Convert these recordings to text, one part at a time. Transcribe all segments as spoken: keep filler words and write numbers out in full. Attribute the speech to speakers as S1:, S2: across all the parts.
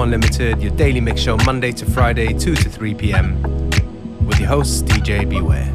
S1: Unlimited, your daily mix show Monday to Friday, two to three p.m. with your host, D J Beware.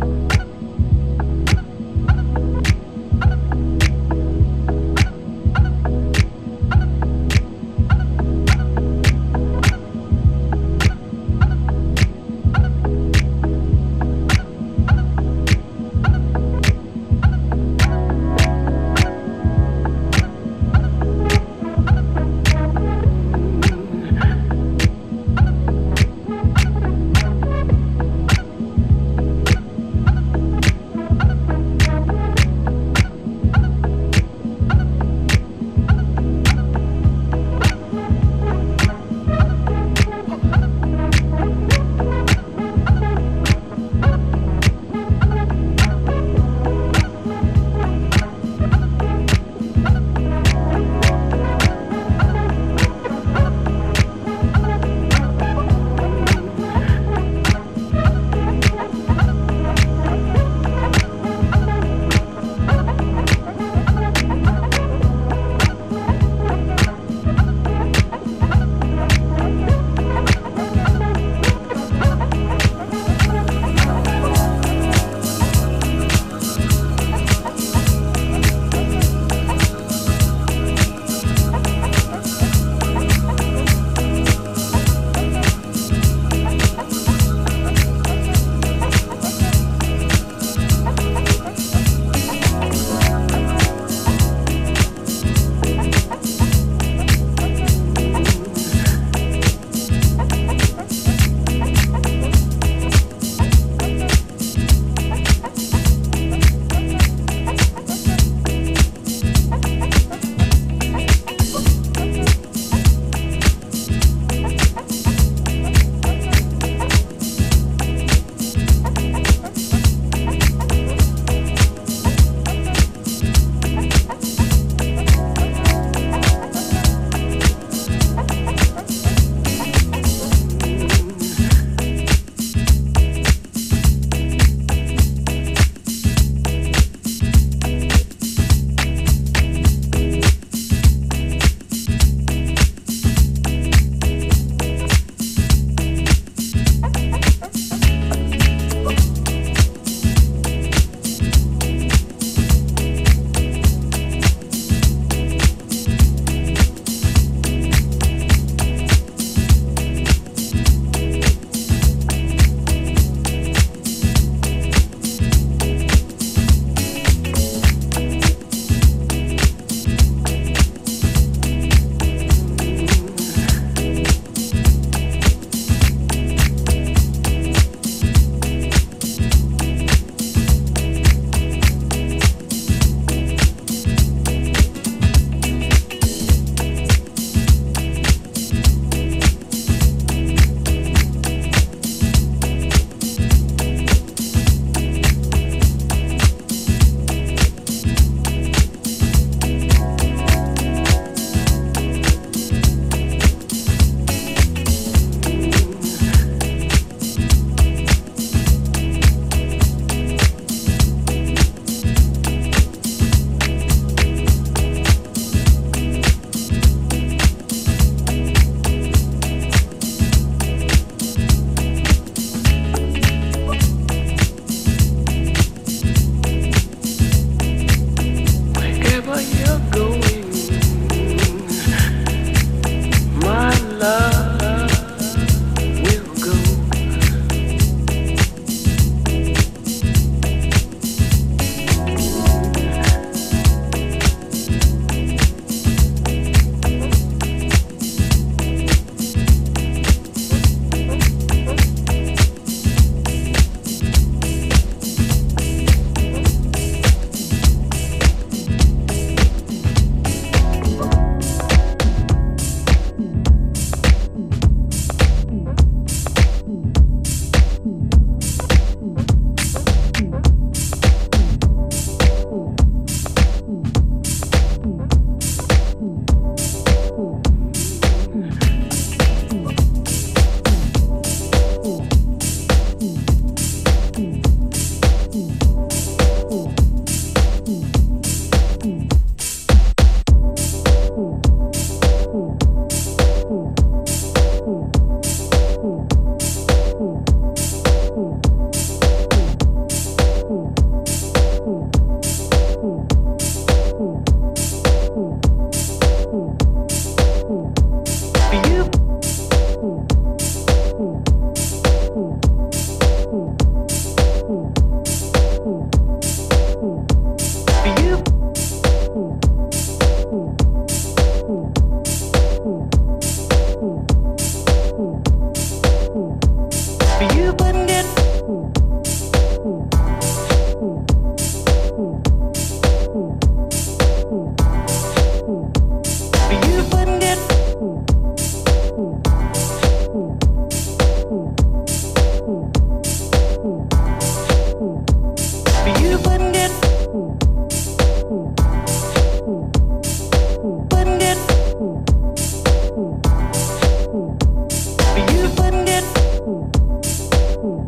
S2: Ooh.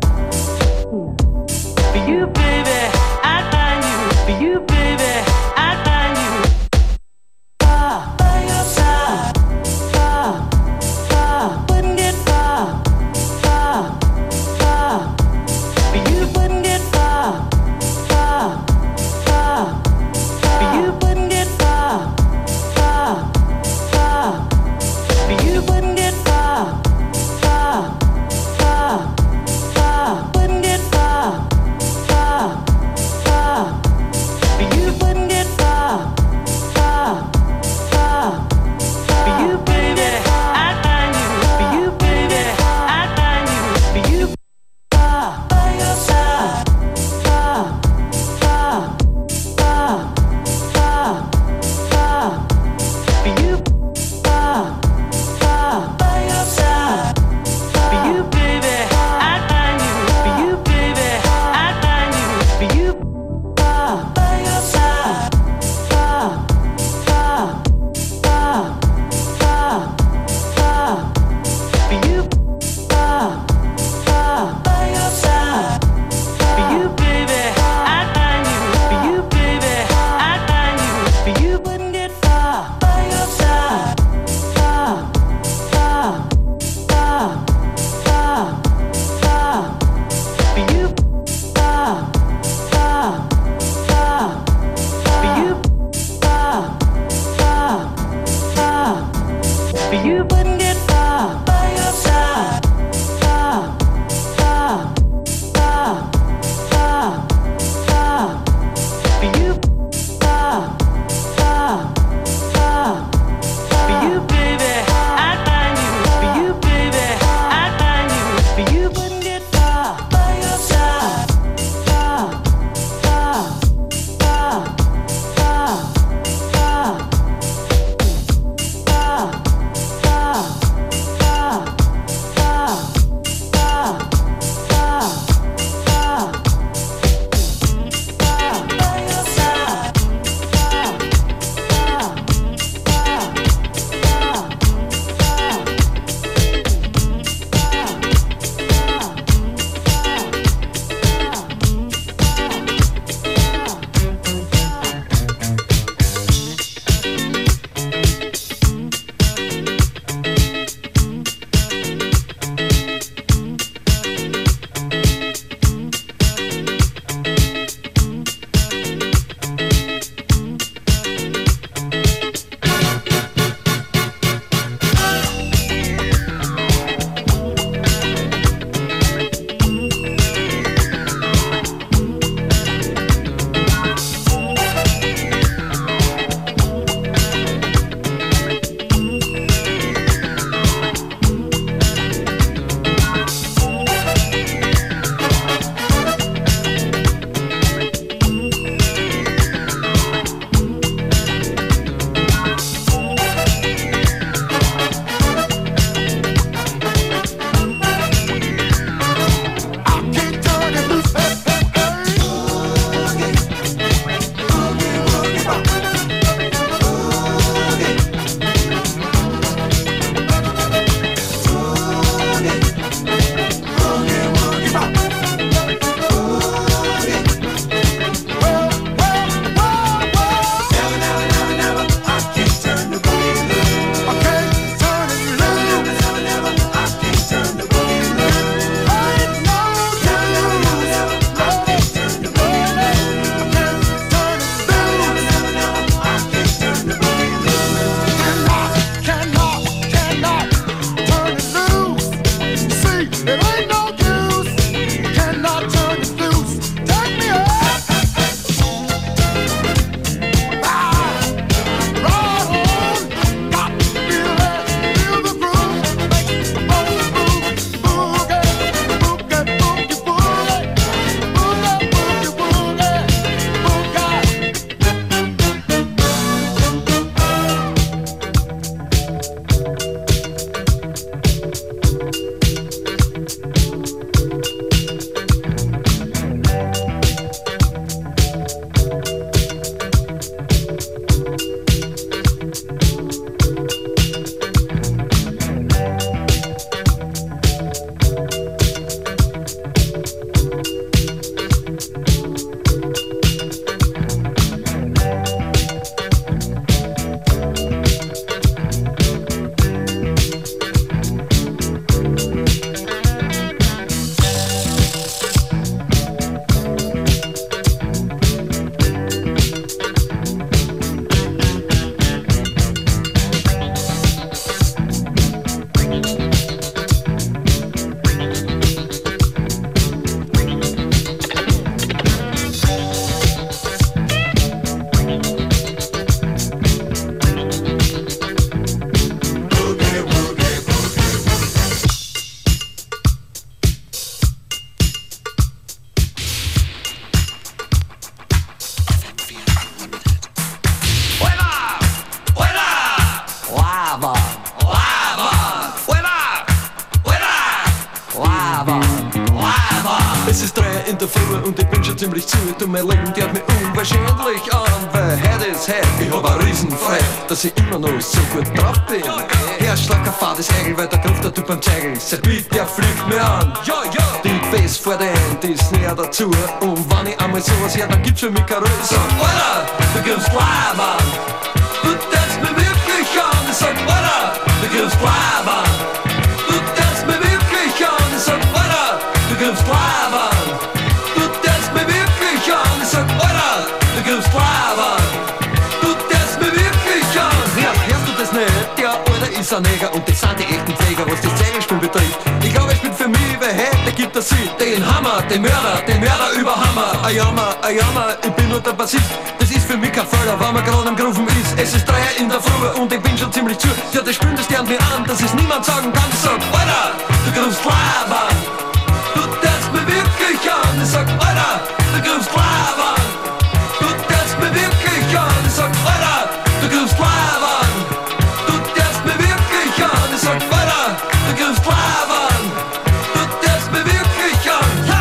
S2: labern, labern. Es ist drei in der Früh und ich bin schon ziemlich zu. Du, mein Leben geht mir unwahrscheinlich an, weil heute ist heute. Ich hab ein Riesenfreude, dass ich immer noch so gut drauf bin. Herr Schlacker, fahr das Egel, weil der Griff der Typ am Zeigel. Sein Beat, der fliegt mir an. Ja, ja. Die Bass vor der Hand ist näher dazu. Und wenn ich einmal sowas her, dann gibt's für mich keine Ruhe. Ich sag, Alter, du gibst labern. Du tanzt mir wirklich an. Ich sag, Alter, du gibst labern. Du tanzt mir wirklich an. Ich sag, Alter, du gibst labern. Du tanzt mir wirklich an. Ich sag, Alter, du gibst labern. Du tanzt mir wirklich an. Ja, hörst du das nicht? Der Alter ist ein Neger und das sind die echten Pfleger, was das Zeigelspiel betrifft. Ich glaube, ich bin für mich, weil heute gibt er sie. Den Hammer, den Mörder, den Mörder über Hammer. Ein Jammer, ein Jammer, ich bin nur der Bassist. Das ist für mich kein Fehler, wenn man gerade am Grufen ist. Es ist drei in der Früh und ich bin schon ziemlich zu. Ja, das spürt das gern mir an, dass es niemand sagen kann. Ich sag, Alter, du grufst labern. Du tanzt mir wirklich an. Ich sag, Alter, du grufst labern. Du tanzt mir wirklich an. Ich sag, Alter, du grufst labern. Du tanzt mir wirklich an. Ich sag, Alter, du grufst labern. Du tanzt mir wirklich an. Ja.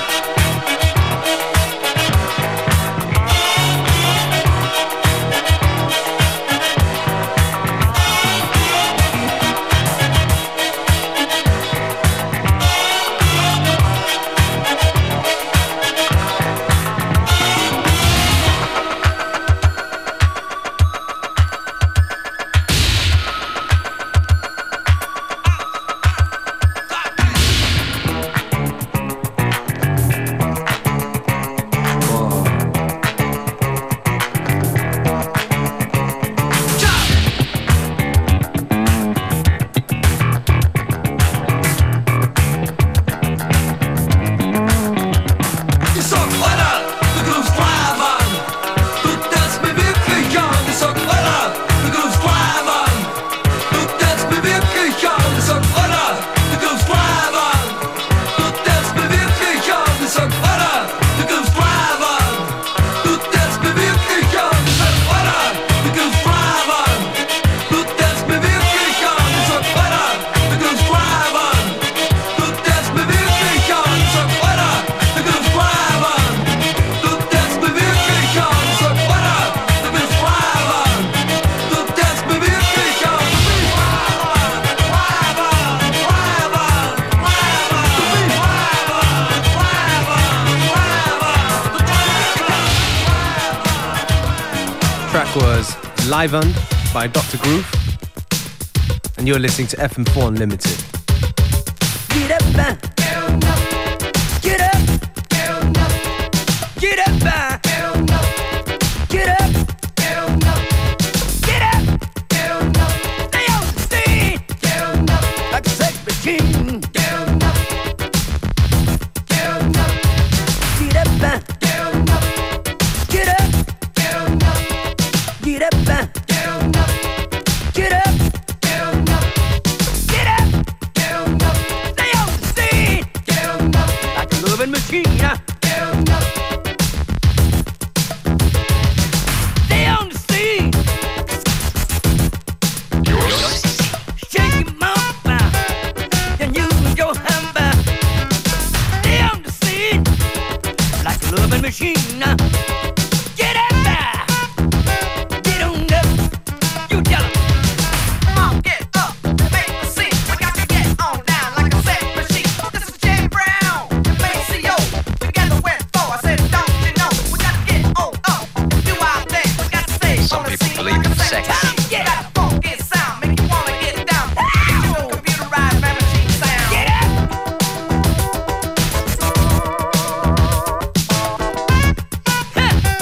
S1: Was Live On by Doctor Groove, and you're listening to F M four Unlimited.
S3: Get up, man. Get up, get up, get up, get up, get up, stay on the scene, like a sex machine. Get up, man. Get up, get up, get up, get up, get up, get up, stay on the scene, like a loving machine. Stay on the scene. Shake your mama, then use your hammer. Stay on the scene, like a loving machine. Get up there. Get on up. You tell 'em.
S4: Come on, get up, make the scene. We got to get on down like a sex machine. This is Jay Brown, Maceo. Together we're four. I said, don't you know? We got to get on up and do our thing. We got to stay
S5: Some
S4: on the
S5: people
S4: scene
S5: believe
S4: like a
S5: in
S4: sex
S5: sex.
S4: machine.
S3: Yeah.
S4: Got a funky sound, make you wanna get down. Get you a computerized man machine sound.
S3: Get up. Huh.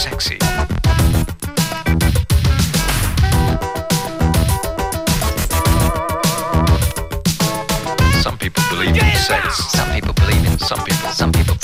S5: sexy. Some people believe in sex. Some people believe in some people. Some people.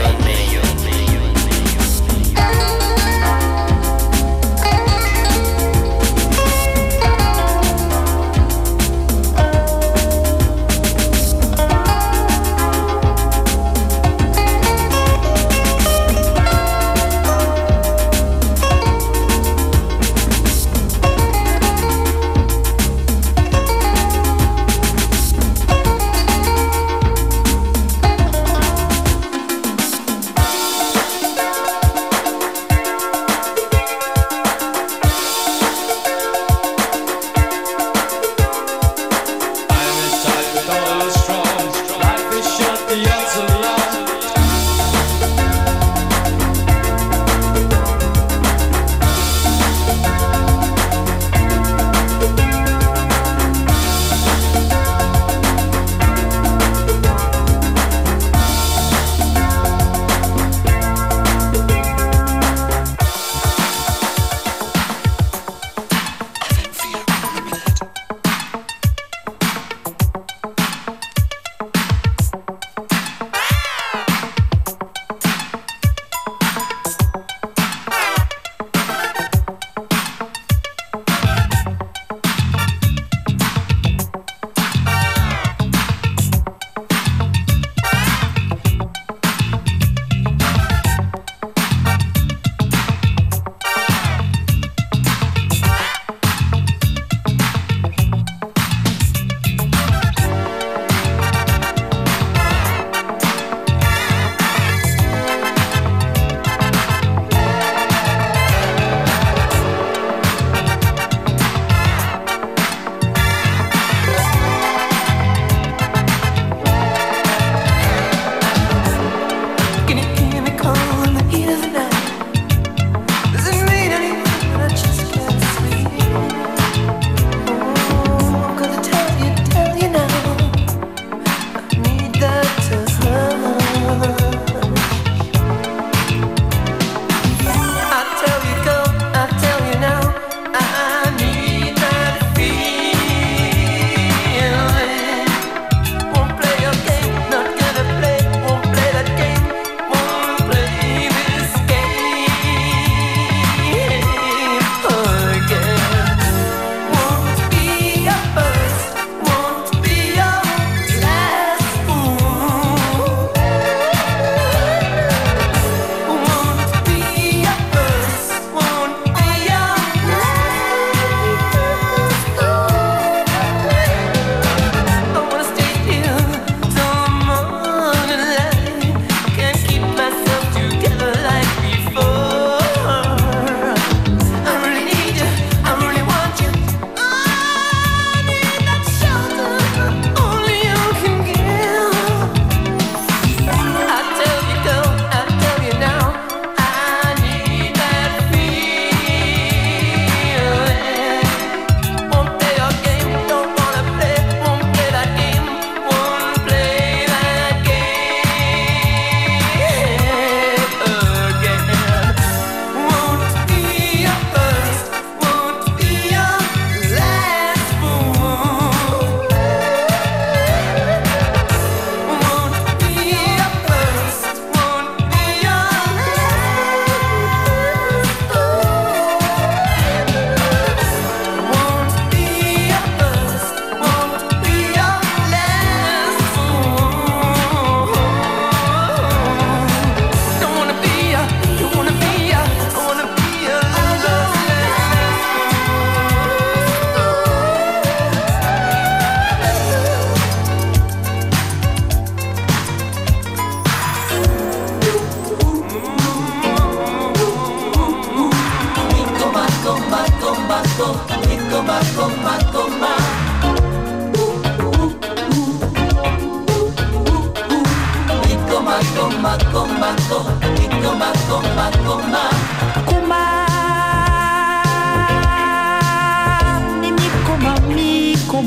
S6: Just made for you and me.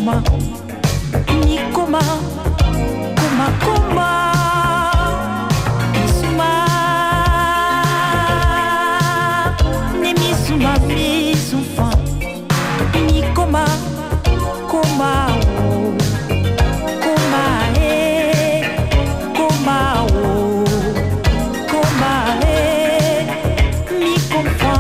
S6: Mikoma, Mikoma, Koma, Koma, Misuma, Ne Misuma, Misufa, Mikoma, Koma, oh, Koma, eh, Koma, oh, Koma, eh, Mikoma.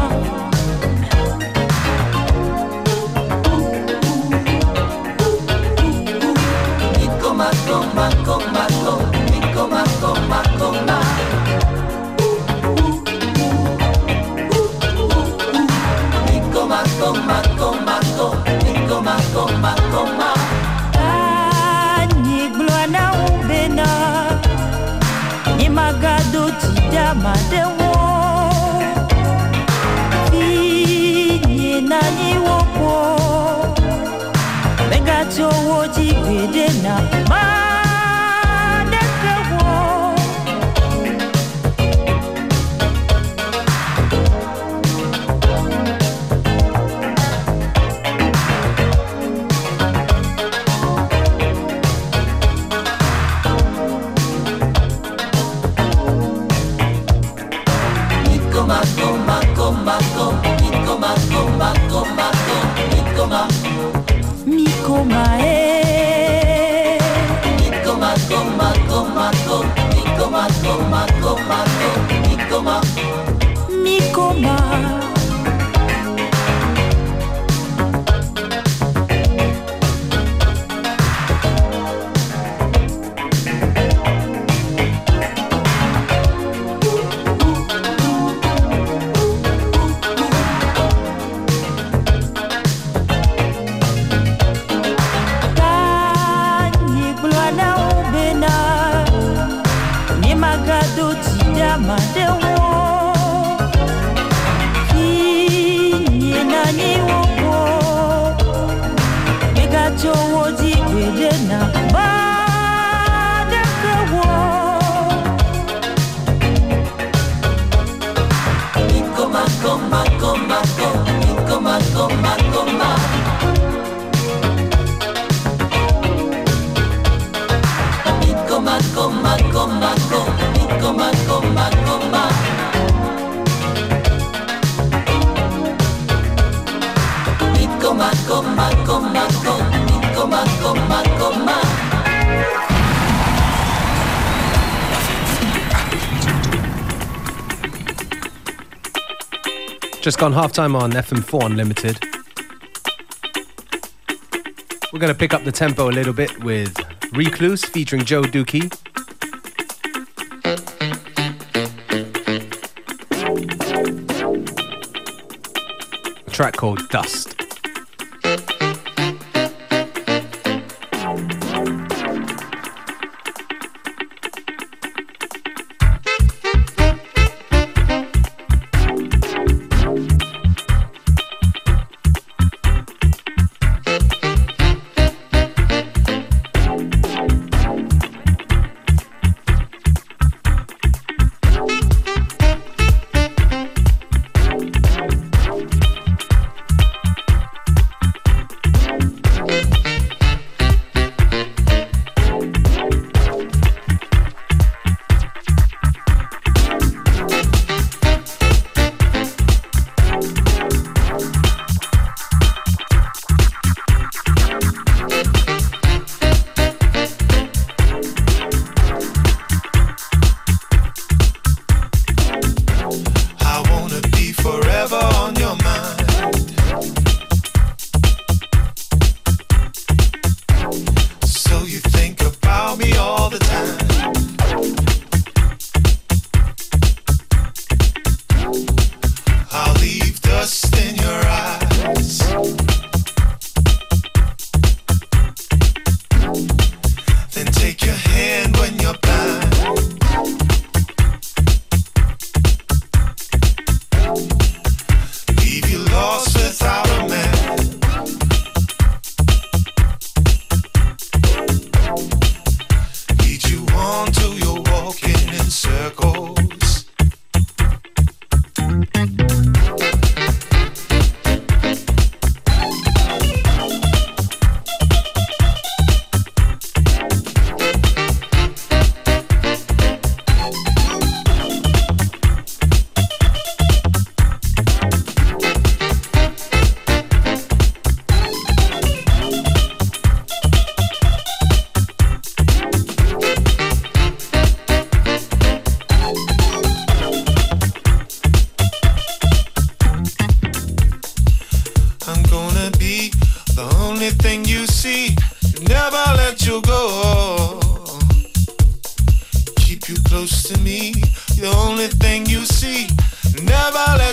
S6: Coma, coma, coma, coma, coma, coma. Mi coma, coma, coma, coma, coma, coma. Ni gloana ubena, ni magado tida madewo. Ni nani wopo, megacho woji bedena. Mikoma, eh. Mikoma, coma, coma, Mikoma, coma, coma, Mikoma, Mikoma.
S1: Just gone halftime on F M four Unlimited. We're going to pick up the tempo a little bit with Recluse featuring Joe Dookie. A track called Dust.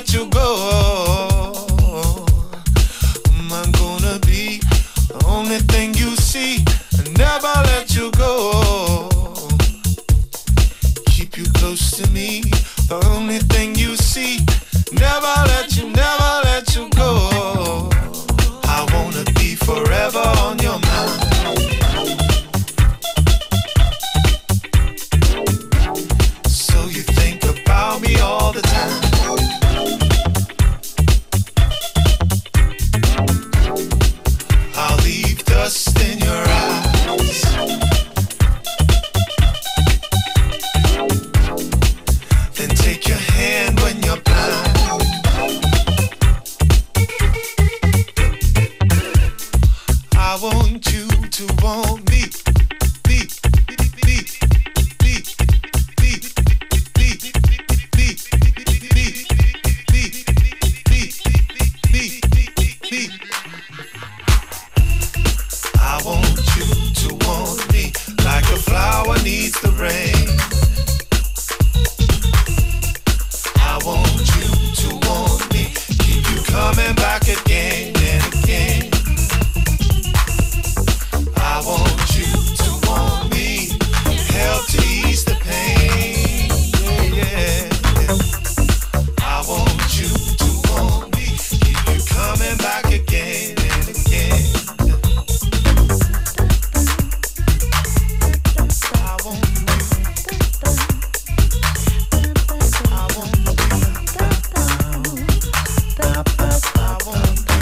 S7: let you go. I'm gonna be the only thing you see and never let you go. Keep you close to me, the only thing you see. Never let you, never let you go. I wanna be forever on your mind. So you think about me all the time. I'll leave dust in your eyes. Then take your hand when you're blind. I want you to want me, me, me, me, me, me, me, me, me, me, me. I want you to want me like a flower needs the rain. I want you to want me, keep you coming back again and again. I want you to want me, help to ease the pain. Yeah, yeah. I want you to want me, keep you coming back again and again. I want you. I want you. I want you.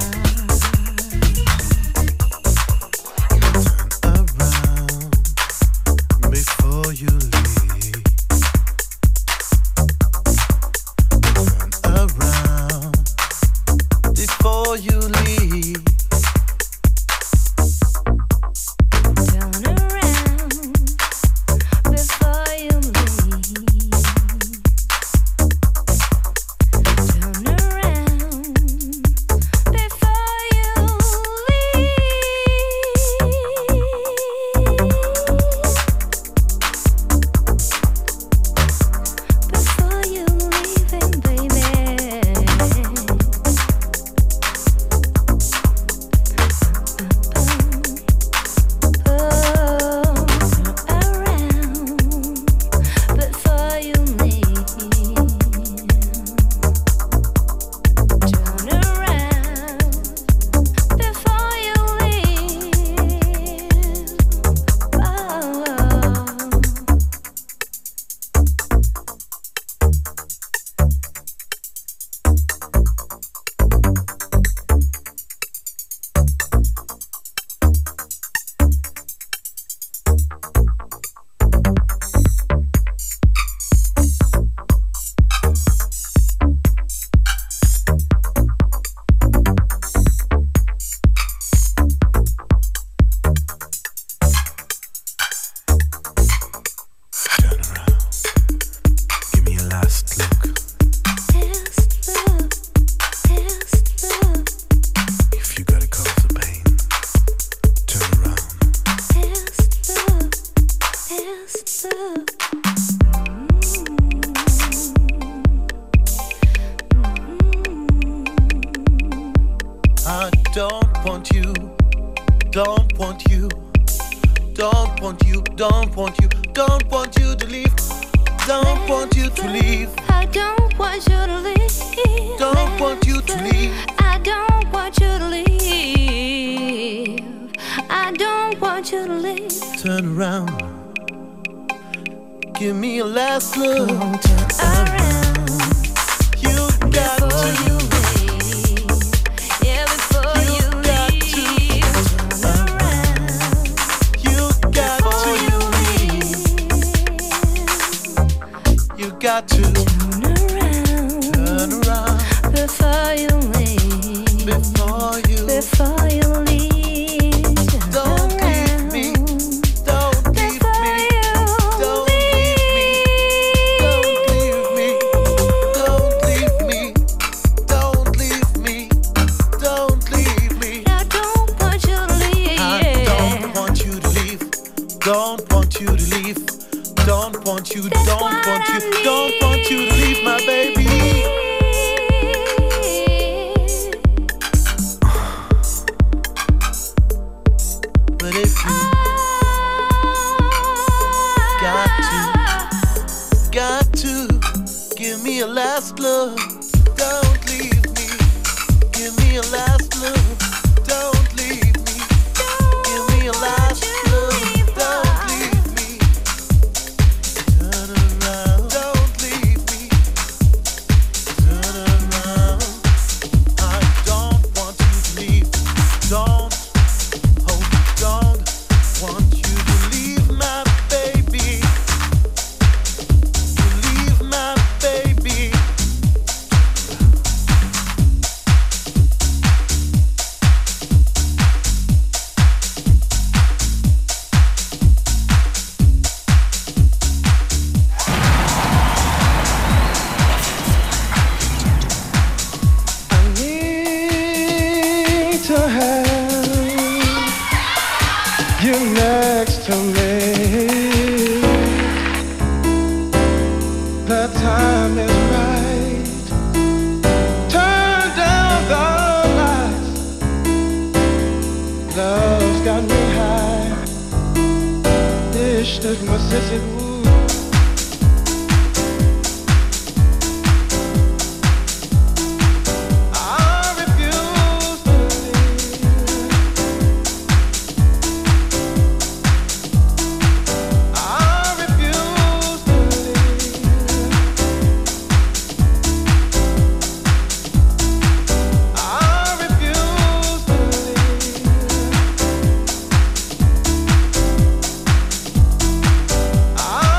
S7: Before you leave, turn around before you leave.
S6: Turn around before you leave. Turn around before you Before you leaving, baby.
S7: don't want you, don't want you, don't want you, don't want you, don't want you to leave, don't want you to leave.
S6: I don't want you to leave.
S7: Don't want you to leave.
S6: I don't want you to leave. I don't want you to leave.
S7: Turn around. Give me a last look.
S6: Come on, turn around.
S7: You got
S6: Before
S7: to.
S6: you leave. Yeah, before you,
S7: You got
S6: leave.
S7: to.
S6: Turn around.
S7: You got
S6: Before
S7: to.
S6: you leave.
S7: You got to.
S6: Turn around.
S7: Turn around.
S6: Before you leave.
S7: Before you.
S6: Before you leave. Turn
S7: Don't leave
S6: around.
S7: me. Don't leave
S6: Before
S7: me.
S6: you
S7: Don't leave me. Don't leave me.
S8: to me. The time is right. Turn down the lights. Love's got me high. This is my sissy. I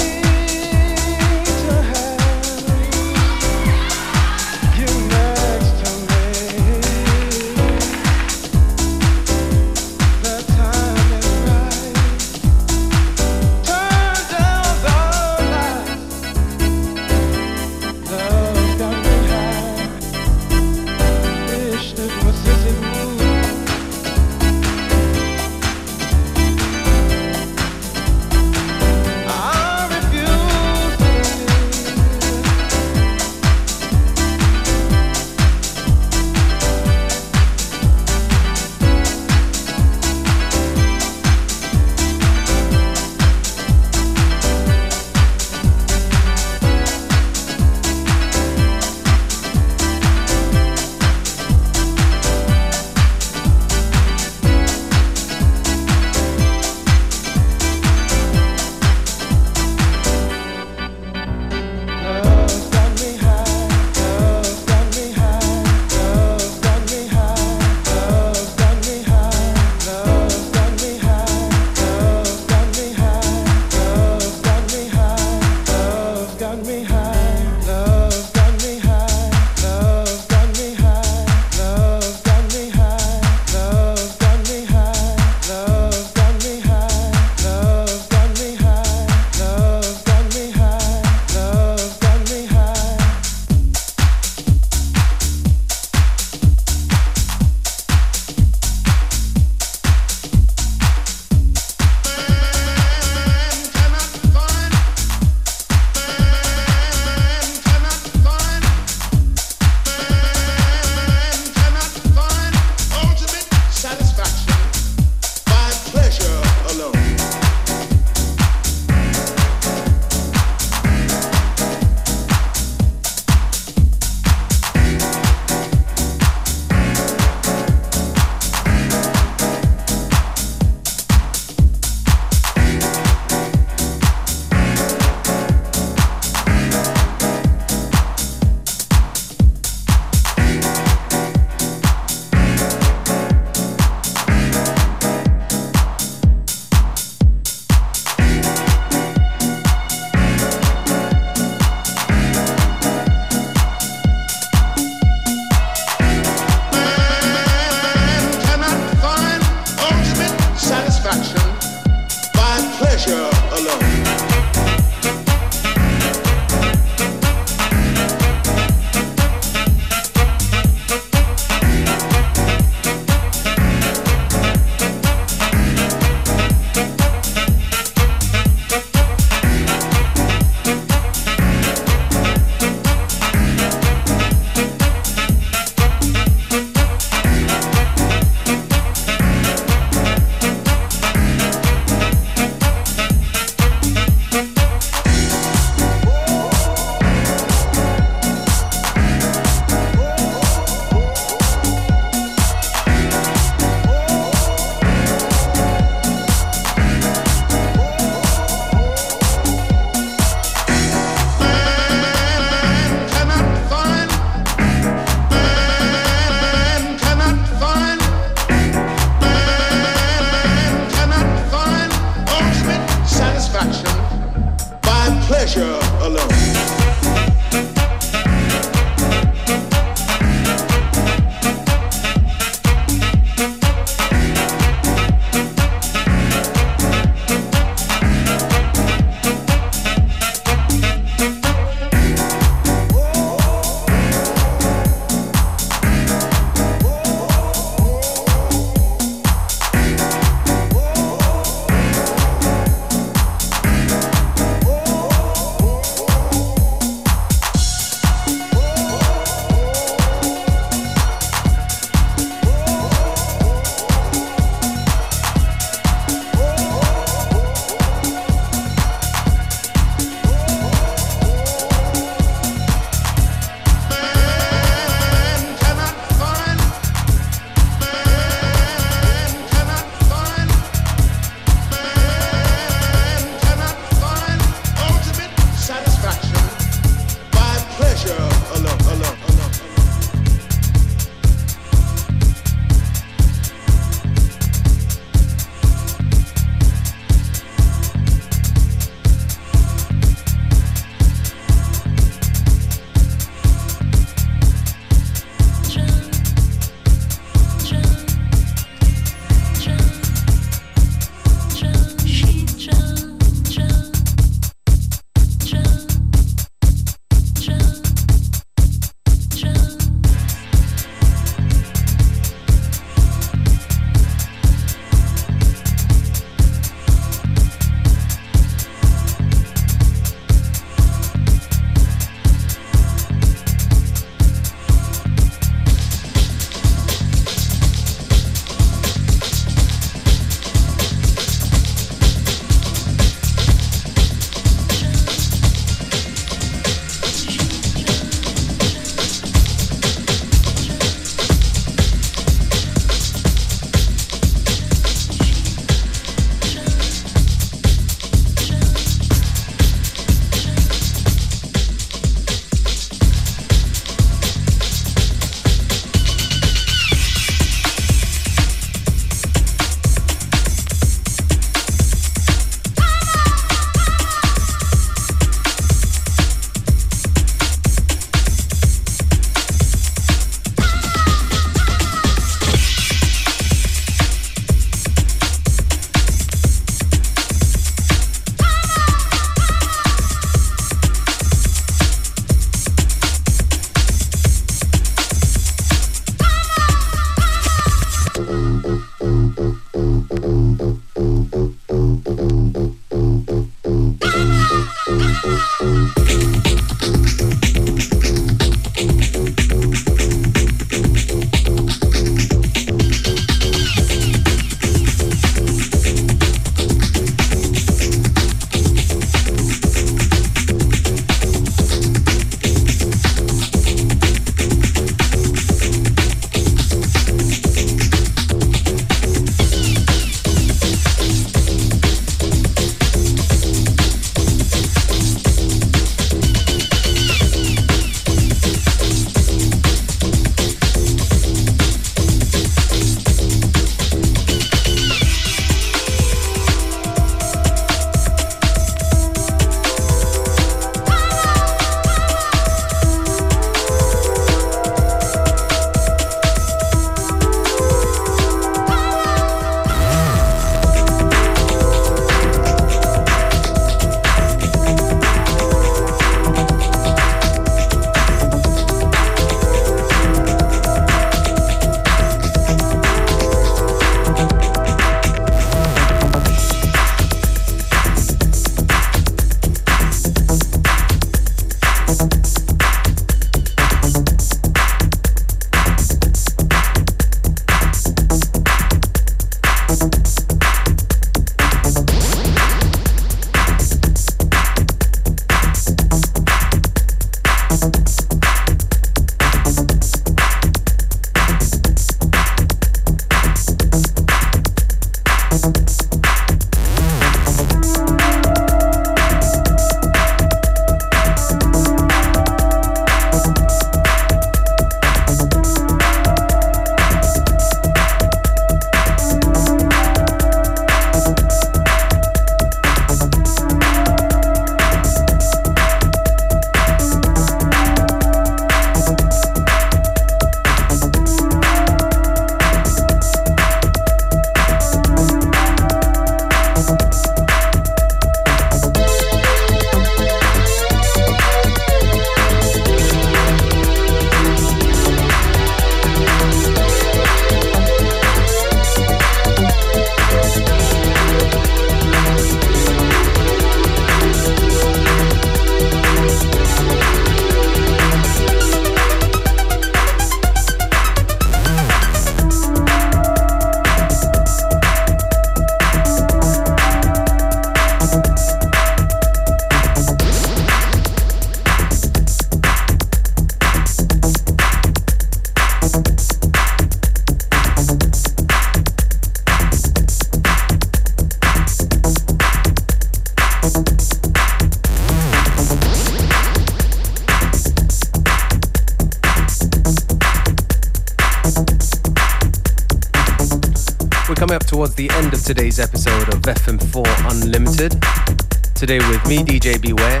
S1: Coming up towards the end of today's episode of F M four Unlimited. Today with me, D J Beware.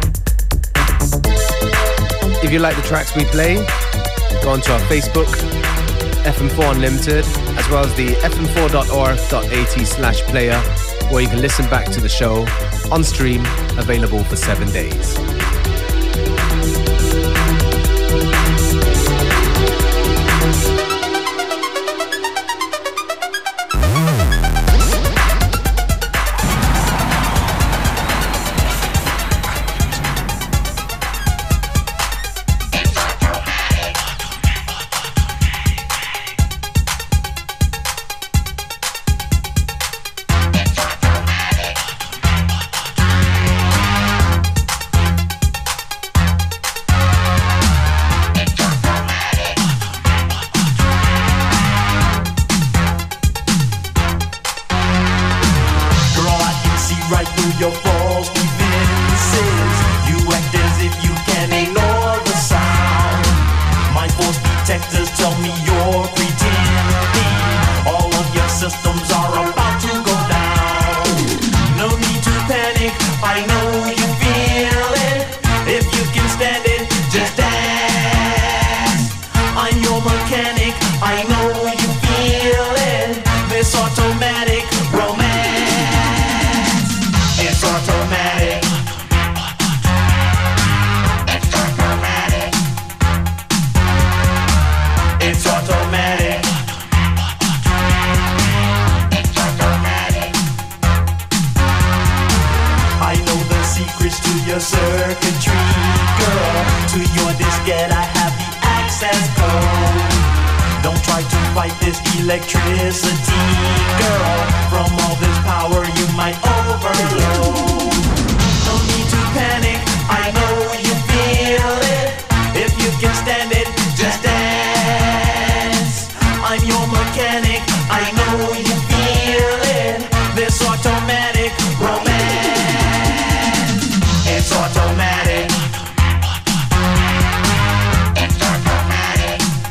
S1: If you like the tracks we play, go onto our Facebook, F M four Unlimited, as well as the f m four dot org dot a t slash player, where you can listen back to the show on stream, available for seven days.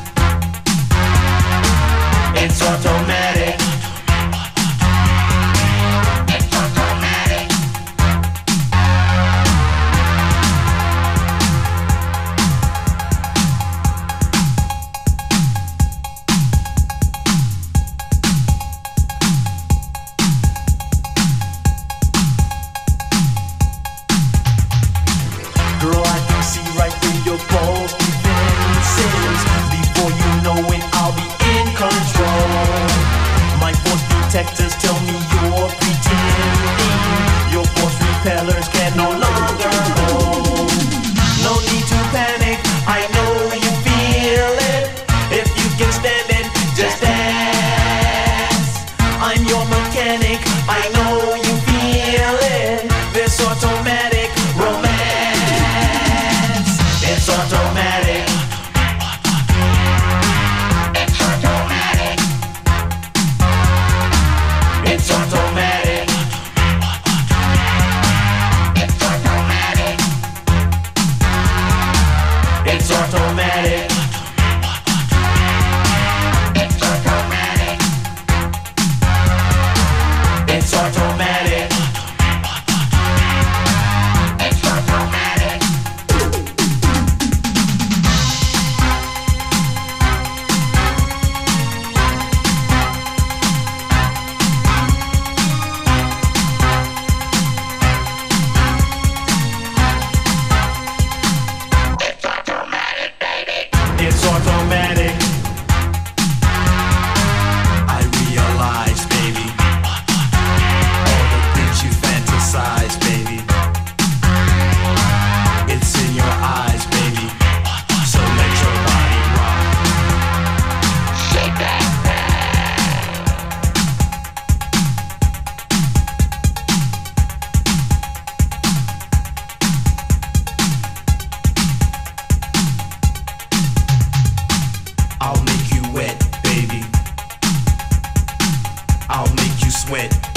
S9: It's automatic.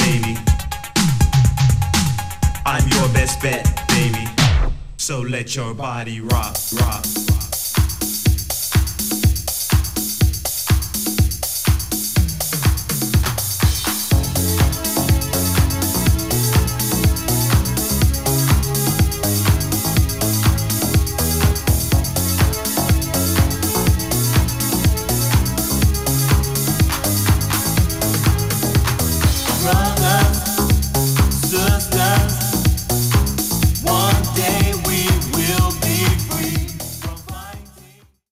S9: baby. I'm your best bet, baby. So let your body rock, rock, rock.